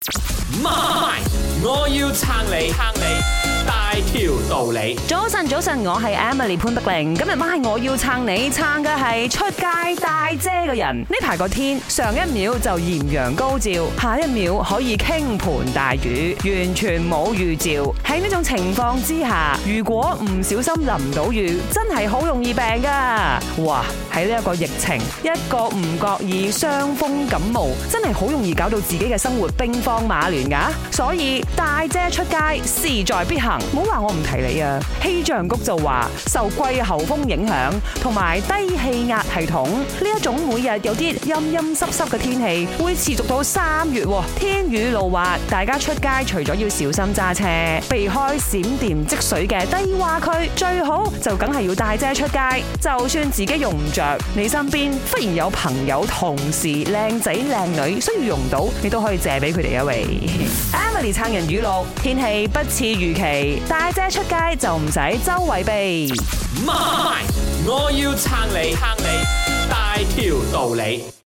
媽，我要撐你，撐你大條道理。 早晨，我係 Emily 潘德玲。今日晚係我要撐你，撐嘅係出街帶遮嘅人。呢排個天上一秒就豔陽高照，下一秒可以傾盆大雨，完全冇預兆。喺呢種情況之下，如果唔小心淋到雨，真係好容易病噶。哇！喺呢一個疫情，一個唔覺意傷風感冒，真係好容易搞到自己嘅生活兵荒馬亂噶。所以帶遮出街勢在必行。唔好話我唔提你啊！氣象局就話受季候風影響同埋低氣壓系統呢一種每日有啲陰濕嘅天氣會持續到3月，天雨路滑，大家出街除咗要小心揸車，避開閃電積水嘅低洼區，最好就梗係要帶遮出街。就算自己用唔着，你身邊忽然有朋友、同事、靚仔靚女需要用到，你都可以借俾佢哋一位。Emily 撐人語錄：天氣不似預期，帶遮出街就唔使周圍避。 媽，我要撐你，撐你大條道理。